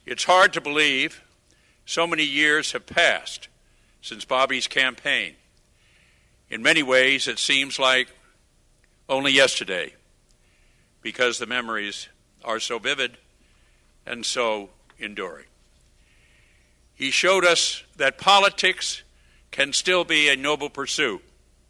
It's hard to believe so many years have passed since Bobby's campaign. In many ways, it seems like only yesterday, because the memories are so vivid and so enduring. He showed us that politics can still be a noble pursuit.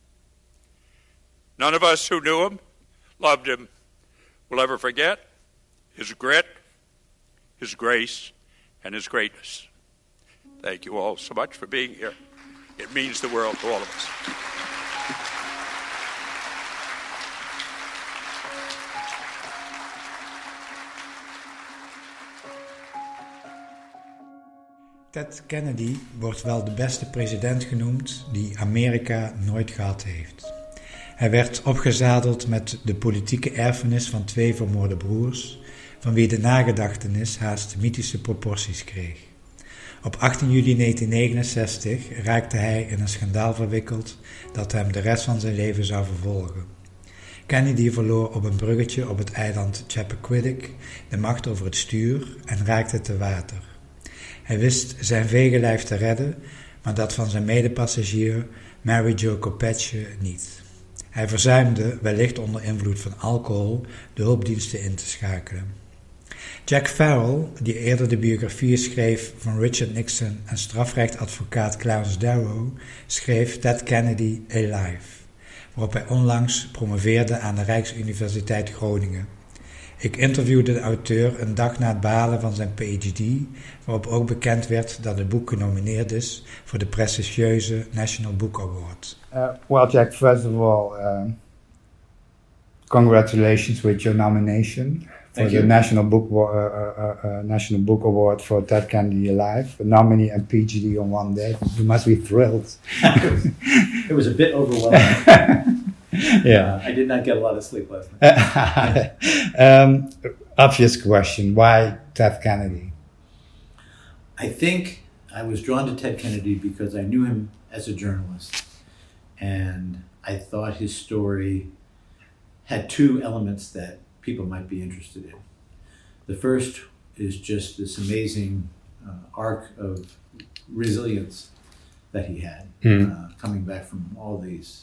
None of us who knew him, loved him, will ever forget his grit, his grace, and his greatness. Thank you all so much for being here. It means the world to all of us. Ted Kennedy wordt wel de beste president genoemd die Amerika nooit gehad heeft. Hij werd opgezadeld met de politieke erfenis van 2 vermoorde broers, van wie de nagedachtenis haast mythische proporties kreeg. Op 18 juli 1969 raakte hij in een schandaal verwikkeld dat hem de rest van zijn leven zou vervolgen. Kennedy verloor op een bruggetje op het eiland Chappaquiddick de macht over het stuur en raakte te water. Hij wist zijn vegenlijf te redden, maar dat van zijn medepassagier Mary Jo Kopechne niet. Hij verzuimde, wellicht onder invloed van alcohol, de hulpdiensten in te schakelen. Jack Farrell, die eerder de biografieën schreef van Richard Nixon en strafrechtadvocaat Clarence Darrow, schreef Ted Kennedy Alive, waarop hij onlangs promoveerde aan de Rijksuniversiteit Groningen. Ik interviewde de auteur een dag na het behalen van zijn PhD, waarop ook bekend werd dat het boek genomineerd is voor de prestigieuze National Book Award. Well, Jack, first of all, congratulations with your nomination for the National Book Award for Ted Kennedy Alive. A nominee and PhD on one day. You must be thrilled. It was a bit overwhelming. Yeah. I did not get a lot of sleep last night. Obvious question. Why Ted Kennedy? I think I was drawn to Ted Kennedy because I knew him as a journalist. And I thought his story had 2 elements that people might be interested in. The first is just this amazing arc of resilience that he had, coming back from all these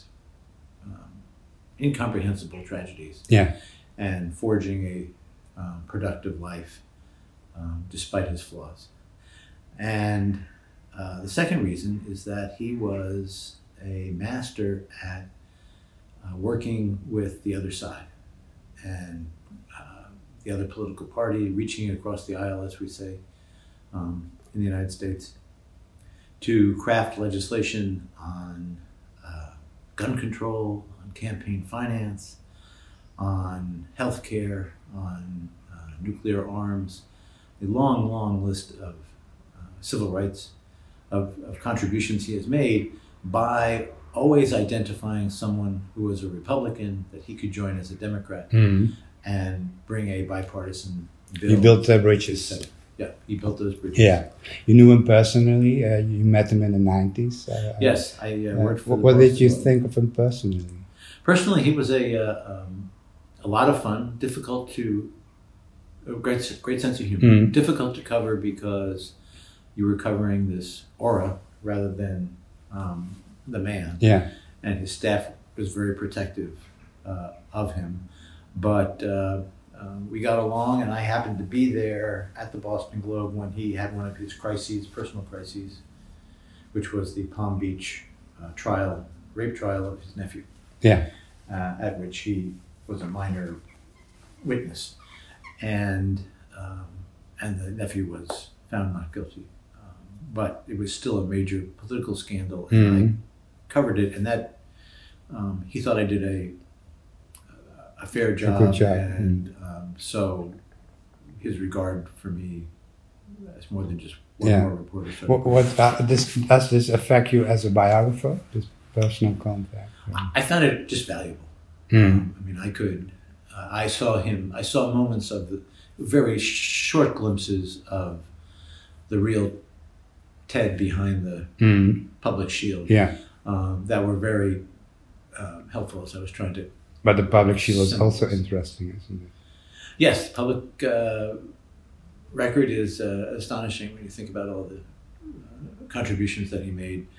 incomprehensible tragedies, and forging a productive life despite his flaws. And the second reason is that he was a master at working with the other side and the other political party, reaching across the aisle, as we say, in the United States, to craft legislation on gun control, on campaign finance, on healthcare, on nuclear arms, a long, long list of civil rights, of contributions he has made by always identifying someone who was a Republican that he could join as a Democrat and bring a bipartisan bill. You built bridges. Yeah, he built those bridges. Yeah. You knew him personally. You met him in the 90s. Yes, I worked for What did you think of him personally? Personally, he was a lot of fun, difficult to, a great sense of humor. Difficult to cover because you were covering this aura rather than the man. Yeah. And his staff was very protective of him. But we got along, and I happened to be there at the Boston Globe when he had one of his personal crises, which was the Palm Beach rape trial of his nephew. Yeah. At which he was a minor witness, and the nephew was found not guilty. But it was still a major political scandal, and I covered it, and that he thought I did a fair job, a good job. And so his regard for me is more than just one more reporter. Does this affect you as a biographer? This personal contact? I found it just valuable. I mean, I saw moments of very short glimpses of the real Ted behind the public shield. Yeah. That were very helpful as I was trying to. But the public shield is also interesting, isn't it? Yes, public record is astonishing when you think about all the contributions that he made.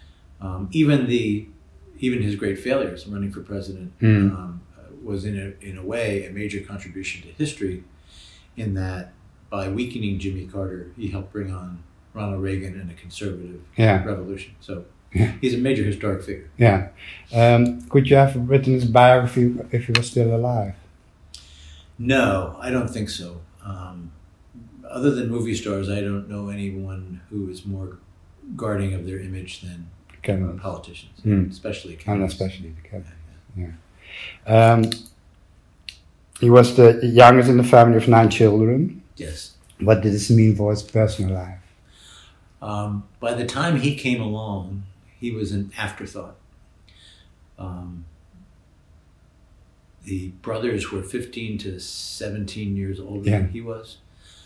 Even his great failures, running for president, was in a way a major contribution to history, in that by weakening Jimmy Carter, he helped bring on Ronald Reagan and a conservative revolution. So he's a major historic figure. Yeah. Could you have written his biography if he was still alive? No, I don't think so. Other than movie stars, I don't know anyone who is more guarding of their image than politicians, especially Kennedy. And especially the Kennedy. Yeah. He was the youngest in the family of 9 children. Yes. What did this mean for his personal life? By the time he came along, he was an afterthought. The brothers were 15 to 17 years older than he was.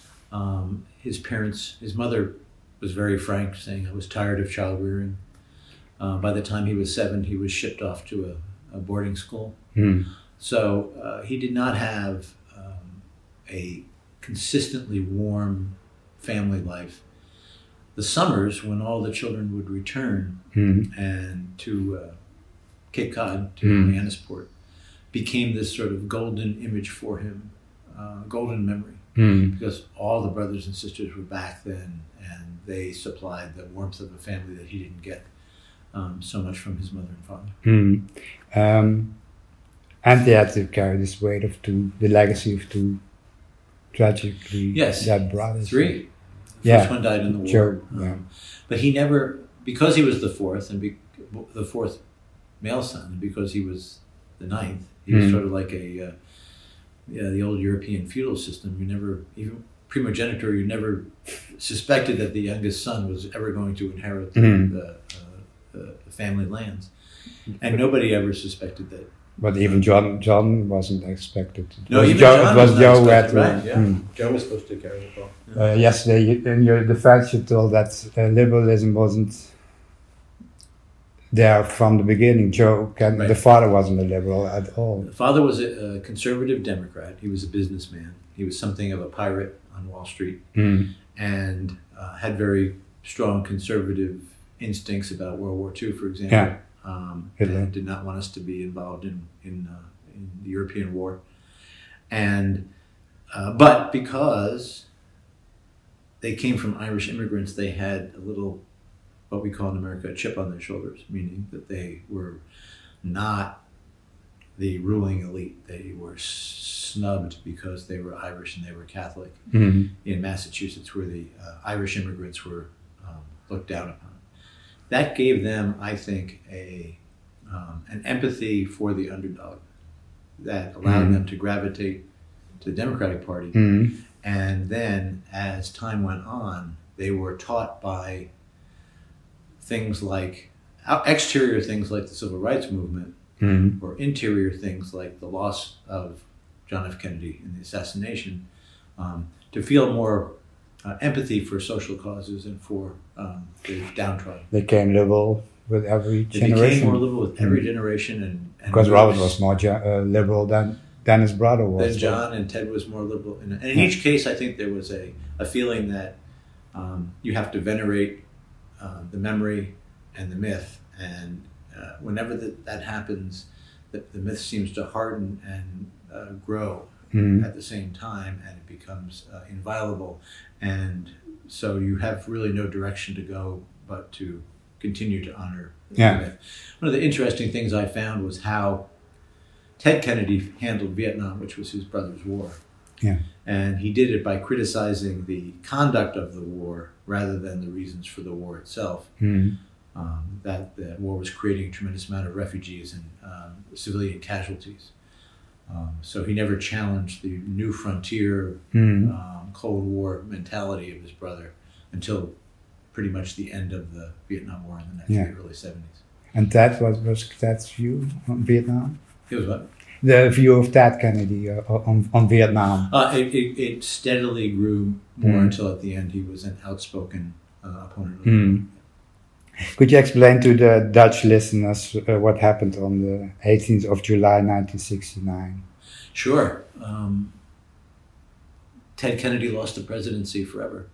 His mother was very frank, saying, I was tired of child rearing. By the time he was 7, he was shipped off to a boarding school. So he did not have a consistently warm family life. The summers, when all the children would return and to Cape Cod, to Hyannisport, became this sort of golden image for him, golden memory, because all the brothers and sisters were back then, and they supplied the warmth of a family that he didn't get so much from his mother and father. And they had to carry this weight of the legacy of 2 tragically dead brothers. 3. The first one died in the war. Sure. But he never, because he was the 4th, and the 4th male son, and because he was the 9th, he was sort of like the old European feudal system. You never, even primogeniture, you never suspected that the youngest son was ever going to inherit the family lands. And nobody ever suspected that. But even John wasn't expected. No, even John was Joe who had to. Right, yeah. Joe was supposed to carry the ball. Yesterday, in your defense, you told that liberalism wasn't there from the beginning. The father wasn't a liberal at all. The father was a conservative Democrat. He was a businessman. He was something of a pirate on Wall Street, and had very strong conservative instincts about World War II, for example. And did not want us to be involved in the European war. And but because they came from Irish immigrants, they had a little, what we call in America, a chip on their shoulders, meaning that they were not the ruling elite. They were snubbed because they were Irish and they were Catholic in Massachusetts, where the Irish immigrants were looked down upon. That gave them, I think, an empathy for the underdog that allowed them to gravitate to the Democratic Party. And then, as time went on, they were taught by things like, exterior things like the Civil Rights Movement, or interior things like the loss of John F. Kennedy and the assassination, to feel more empathy for social causes and for the downtrodden. They became liberal with every generation. They became more liberal with every generation, and because Robert was more liberal than his brother was. Then John and Ted was more liberal, and in each case, I think there was a feeling that you have to venerate the memory and the myth, and whenever that happens, the myth seems to harden and grow at the same time, and it becomes inviolable. And so you have really no direction to go but to continue to honor the myth. One of the interesting things I found was how Ted Kennedy handled Vietnam, which was his brother's war. And he did it by criticizing the conduct of the war rather than the reasons for the war itself. That the war was creating a tremendous amount of refugees and civilian casualties. So he never challenged the new frontier Cold War mentality of his brother until pretty much the end of the Vietnam War in the early 70s. And that was Ted's view on Vietnam? It was what? The view of Ted Kennedy on Vietnam. It steadily grew more until at the end he was an outspoken opponent of the war. Could you explain to the Dutch listeners what happened on the 18th of July 1969? Sure. Ted Kennedy lost the presidency forever.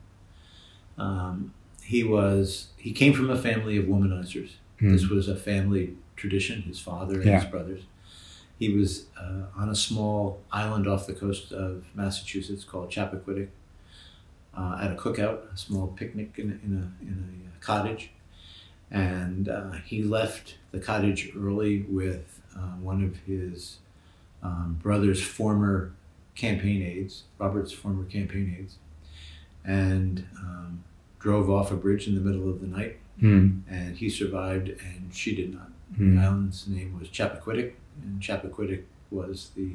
He came from a family of womanizers. This was a family tradition, his father and his brothers. He was on a small island off the coast of Massachusetts called Chappaquiddick at a cookout, a small picnic in a cottage. And he left the cottage early with one of his brother's former campaign aides, Robert's former campaign aides, and drove off a bridge in the middle of the night. And he survived and she did not. The island's name was Chappaquiddick, and Chappaquiddick was the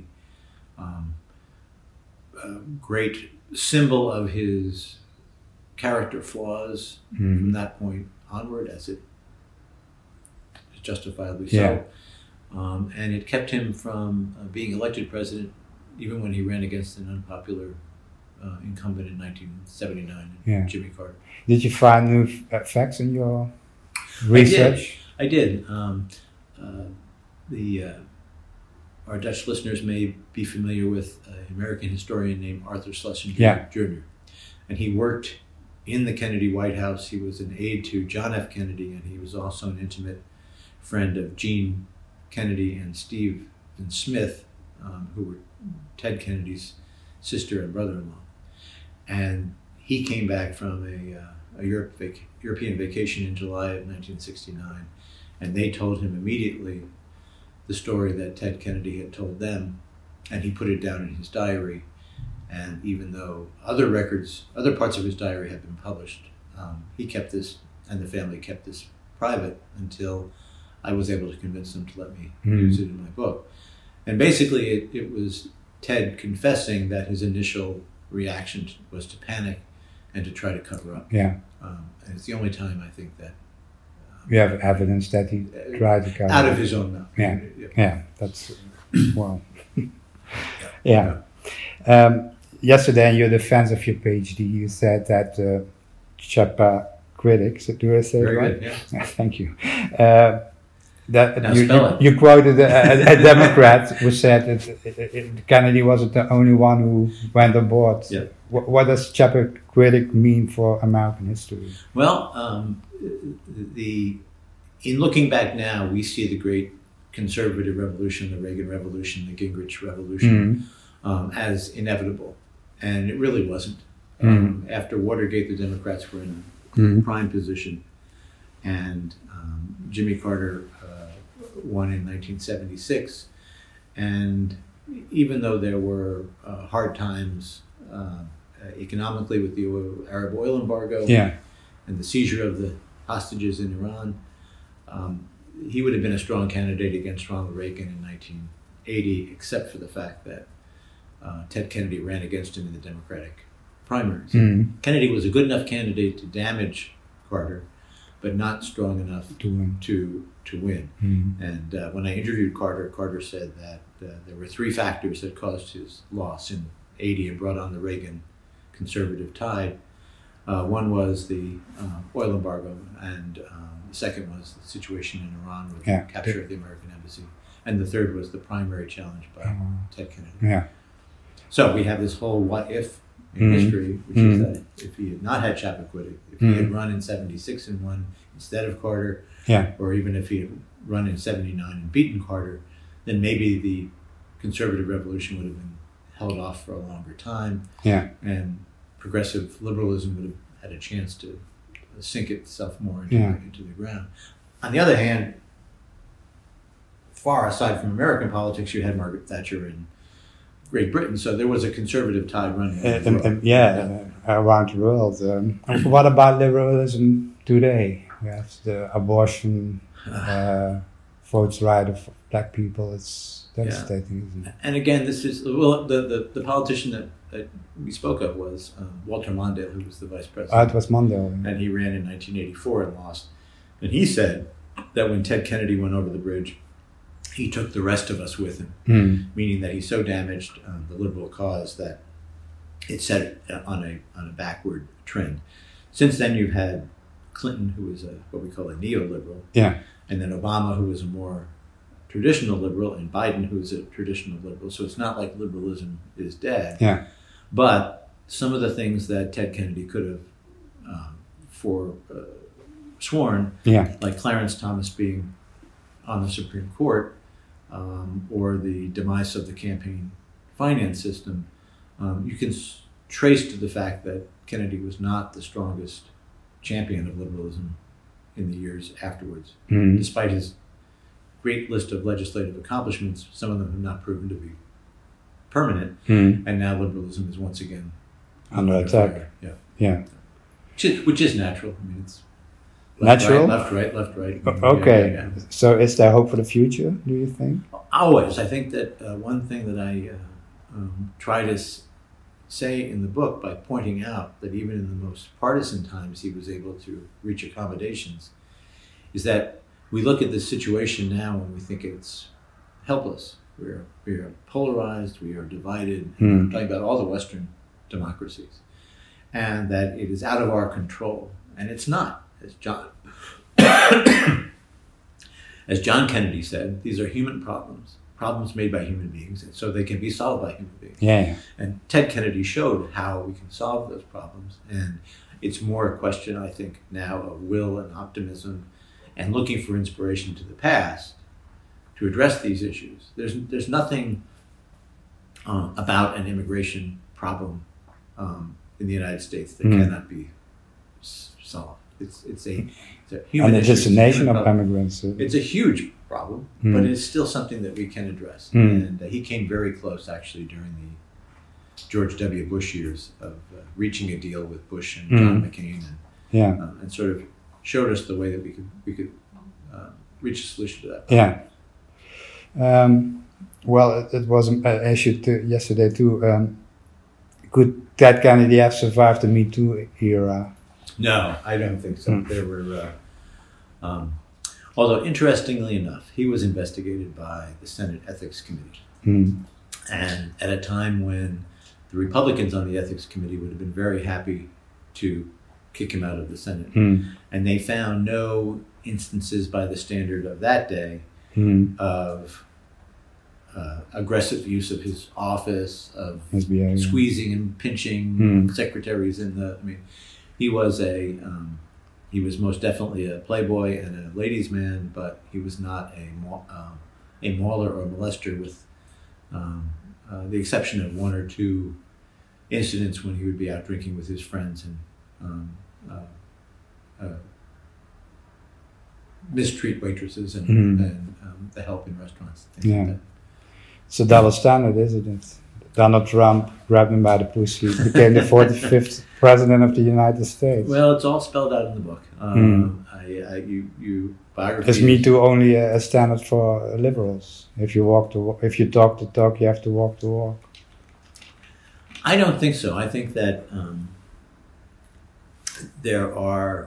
great symbol of his character flaws from that point onward, as it is justifiably so. And it kept him from being elected president even when he ran against an unpopular incumbent in 1979, Jimmy Carter. Did you find new facts in your research? I did. Our Dutch listeners may be familiar with an American historian named Arthur Schlesinger Jr. And he worked in the Kennedy White House. He was an aide to John F. Kennedy, and he was also an intimate friend of Jean Kennedy and Stephen Smith, who were Ted Kennedy's sister and brother-in-law. And he came back from a European vacation in July of 1969, and they told him immediately the story that Ted Kennedy had told them, and he put it down in his diary. And even though other parts of his diary had been published, he kept this, and the family kept this private until I was able to convince them to let me use it in my book. And basically it was Ted confessing that his initial reaction was to panic and to try to cover up. And it's the only time I think that we have evidence that he tried to cover out of his own mouth. That's well. Yesterday in your defense of your PhD, you said that Chappaquiddick, do I say it right? Good, yeah. Thank you. That you quoted a Democrat who said that Kennedy wasn't the only one who went on board. Yeah. What does Chappaquiddick mean for American history? Well, in looking back now, we see the great conservative revolution, the Reagan Revolution, the Gingrich Revolution, as inevitable. And it really wasn't. After Watergate, the Democrats were in a prime position. And Jimmy Carter won in 1976. And even though there were hard times economically with the Arab oil embargo and the seizure of the hostages in Iran, he would have been a strong candidate against Ronald Reagan in 1980, except for the fact that Ted Kennedy ran against him in the Democratic primaries. Kennedy was a good enough candidate to damage Carter, but not strong enough to win. And when I interviewed Carter, Carter said that there were three factors that caused his loss in 80 and brought on the Reagan conservative tide. One was the oil embargo, and the second was the situation in Iran with the capture of the American embassy. And the third was the primary challenge by Ted Kennedy. So we have this whole what if in history, which is that if he had not had Chappaquiddick, if he had run in 76 and won instead of Carter, or even if he had run in 79 and beaten Carter, then maybe the conservative revolution would have been held off for a longer time, and progressive liberalism would have had a chance to sink itself more into the ground. On the other hand, far aside from American politics, you had Margaret Thatcher in Great Britain, so there was a conservative tide running around the world. What about liberalism today? We have the abortion, votes right of black people. It's devastating, isn't it? And again, this is the politician that we spoke of was Walter Mondale, who was the vice president. It was Mondale, and he ran in 1984 and lost. And he said that when Ted Kennedy went over the bridge, he took the rest of us with him, meaning that he so damaged the liberal cause that it set it on a backward trend. Since then, you've had Clinton, who was what we call a neoliberal, and then Obama, who was a more traditional liberal, and Biden, who is a traditional liberal. So it's not like liberalism is dead. But some of the things that Ted Kennedy could have sworn, like Clarence Thomas being on the Supreme Court, or the demise of the campaign finance system, you can trace to the fact that Kennedy was not the strongest champion of liberalism in the years afterwards. Despite his great list of legislative accomplishments, some of them have not proven to be permanent, and now liberalism is once again under attack. Yeah. Which is natural. I mean, it's natural? Left, right. Okay. Yeah. So is there hope for the future, do you think? Always. I think that one thing that I try to say in the book, by pointing out that even in the most partisan times he was able to reach accommodations, is that we look at this situation now and we think it's helpless. We are polarized, we are divided. I'm talking about all the Western democracies. And that it is out of our control. And it's not, as John Kennedy said, these are human problems made by human beings, and so they can be solved by human beings. Yeah. And Ted Kennedy showed how we can solve those problems. And it's more a question, I think, now of will and optimism and looking for inspiration to the past to address these issues. There's nothing about an immigration problem in the United States that cannot be solved. It's a human and issue. it's a nation of immigrants. It's a huge problem, but it's still something that we can address. And he came very close, actually, during the George W. Bush years of reaching a deal with Bush and John McCain, and sort of showed us the way that we could reach a solution to that problem. Yeah. Well, it was an issue yesterday too. Could Ted Kennedy have survived the Me Too era? No, I don't think so. There were, although interestingly enough, he was investigated by the Senate Ethics Committee. And at a time when the Republicans on the Ethics Committee would have been very happy to kick him out of the Senate. And they found no instances by the standard of that day of aggressive use of his office, of squeezing and pinching secretaries in the. I mean, he was he was most definitely a playboy and a ladies' man, but he was not a mauler or molester, with the exception of one or two incidents when he would be out drinking with his friends and mistreat waitresses and the help in restaurants. Things like that. It's a double standard, isn't it? Donald Trump grabbed him by the pussy, became the 45th president of the United States. Well, it's all spelled out in the book. Biography. Is Me Too only a standard for liberals? If you talk the talk, you have to walk the walk. I don't think so. I think that there are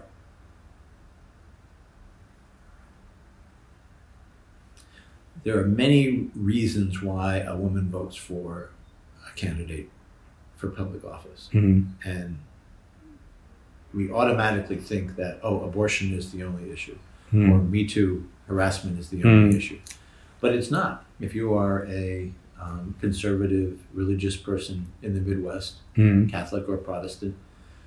many reasons why a woman votes for a candidate for public office. And we automatically think that, abortion is the only issue, or Me Too harassment is the only issue. But it's not. If you are a conservative religious person in the Midwest, Catholic or Protestant,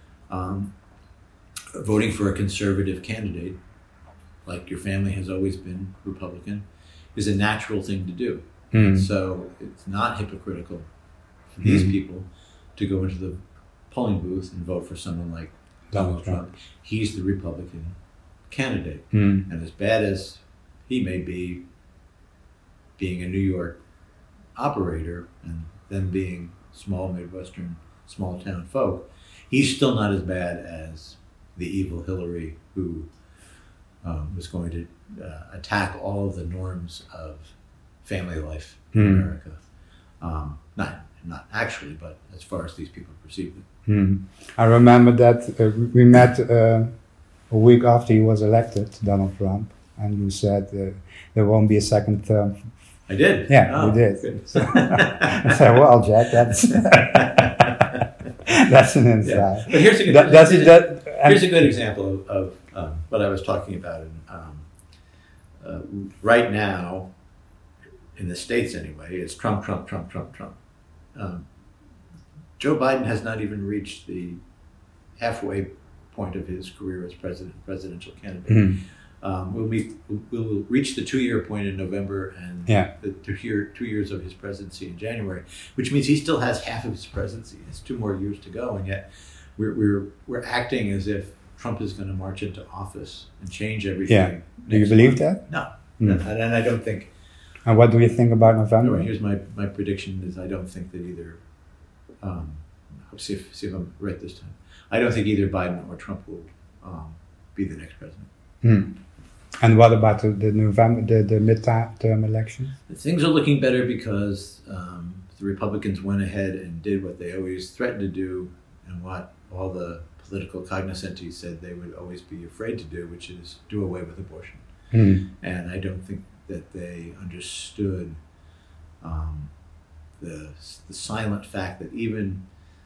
voting for a conservative candidate, like your family has always been Republican, is a natural thing to do. So it's not hypocritical for these people to go into the polling booth and vote for someone like Donald Trump. He's the Republican candidate. And as bad as he may be, being a New York operator and them being small Midwestern, small town folk, he's still not as bad as the evil Hillary, who was going to attack all of the norms of family life in America. Not actually, but as far as these people perceived it. I remember that we met a week after he was elected, Donald Trump, and you said there won't be a second term. I did? Yeah, we did. I said, well, Jack, that's that's an insight. Yeah. But here's a good example of what I was talking about. Right now, in the States anyway, it's Trump. Joe Biden has not even reached the halfway point of his career as presidential candidate. Mm-hmm. We'll reach the 2-year point in November, and the 2 years of his presidency in January, which means he still has half of his presidency. It's 2 more years to go, and yet we're acting as if Trump is going to march into office and change everything. Yeah. Do you believe that? No, and I don't think. And what do you think about November? Anyway, here's my prediction: is I don't think that either. See if I'm right this time. I don't think either Biden or Trump will be the next president. Hmm. And what about the November, the midterm elections? Things are looking better because the Republicans went ahead and did what they always threatened to do, and what all the political cognoscenti said they would always be afraid to do, which is do away with abortion. Hmm. And I don't think that they understood the silent fact that even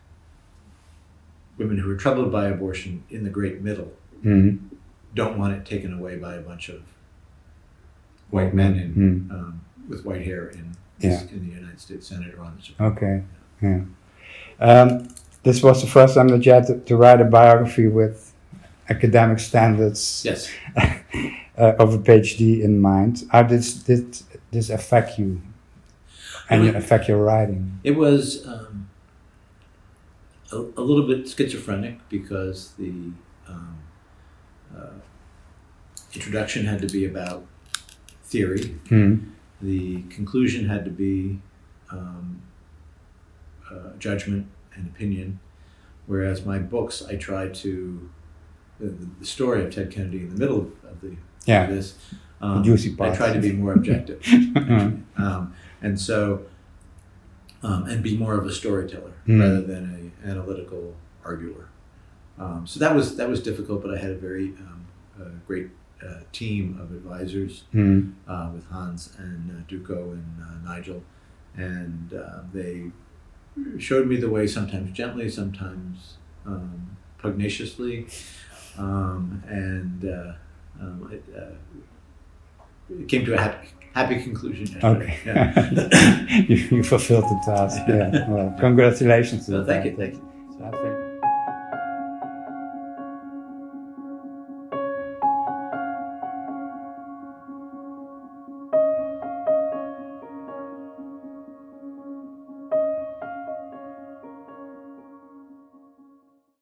women who are troubled by abortion in the great middle don't want it taken away by a bunch of white men with white hair in the United States Senate or on the Supreme Court. Yeah. This was the first time that you had to write a biography with academic standards of a PhD in mind. How did this affect you and affect your writing? It was a little bit schizophrenic because the introduction had to be about theory. The conclusion had to be judgment and opinion, whereas my books, I tried to the story of Ted Kennedy in the middle of this. Juicy part. I tried to be more objective, and so and be more of a storyteller rather than an analytical arguer. So that was difficult, but I had a very great team of advisors with Hans and Duco and Nigel, and they showed me the way, sometimes gently, sometimes pugnaciously, and it came to a happy conclusion. Okay. Yeah. you fulfilled the task. Yeah. Well, congratulations. Thank you.